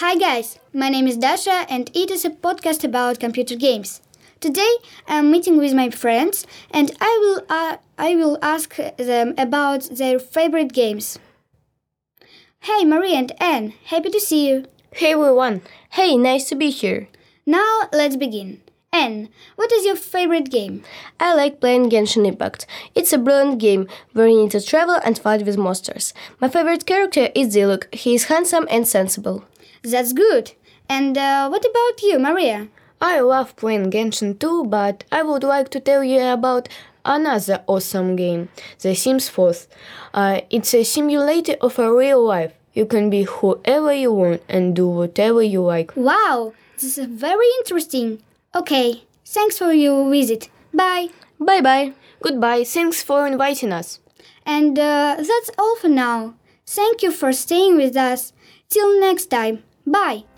Hi guys, my name is Dasha and it is a podcast about computer games. Today I'm meeting with my friends and I will ask them about their favorite games. Hey Marie and Anne, happy to see you. Hey everyone! Hey, nice to be here. Now let's begin. Anne, what is your favorite game? I like playing Genshin Impact. It's a brilliant game where you need to travel and fight with monsters. My favorite character is Diluc. He is handsome and sensible. That's good. And what about you, Maria? I love playing Genshin too, but I would like to tell you about another awesome game, The Sims 4. It's a simulator of a real life. You can be whoever you want and do whatever you like. Wow, this is very interesting. Okay, thanks for your visit. Bye. Bye bye. Goodbye, thanks for inviting us. And that's all for now. Thank you for staying with us. Till next time. Bye.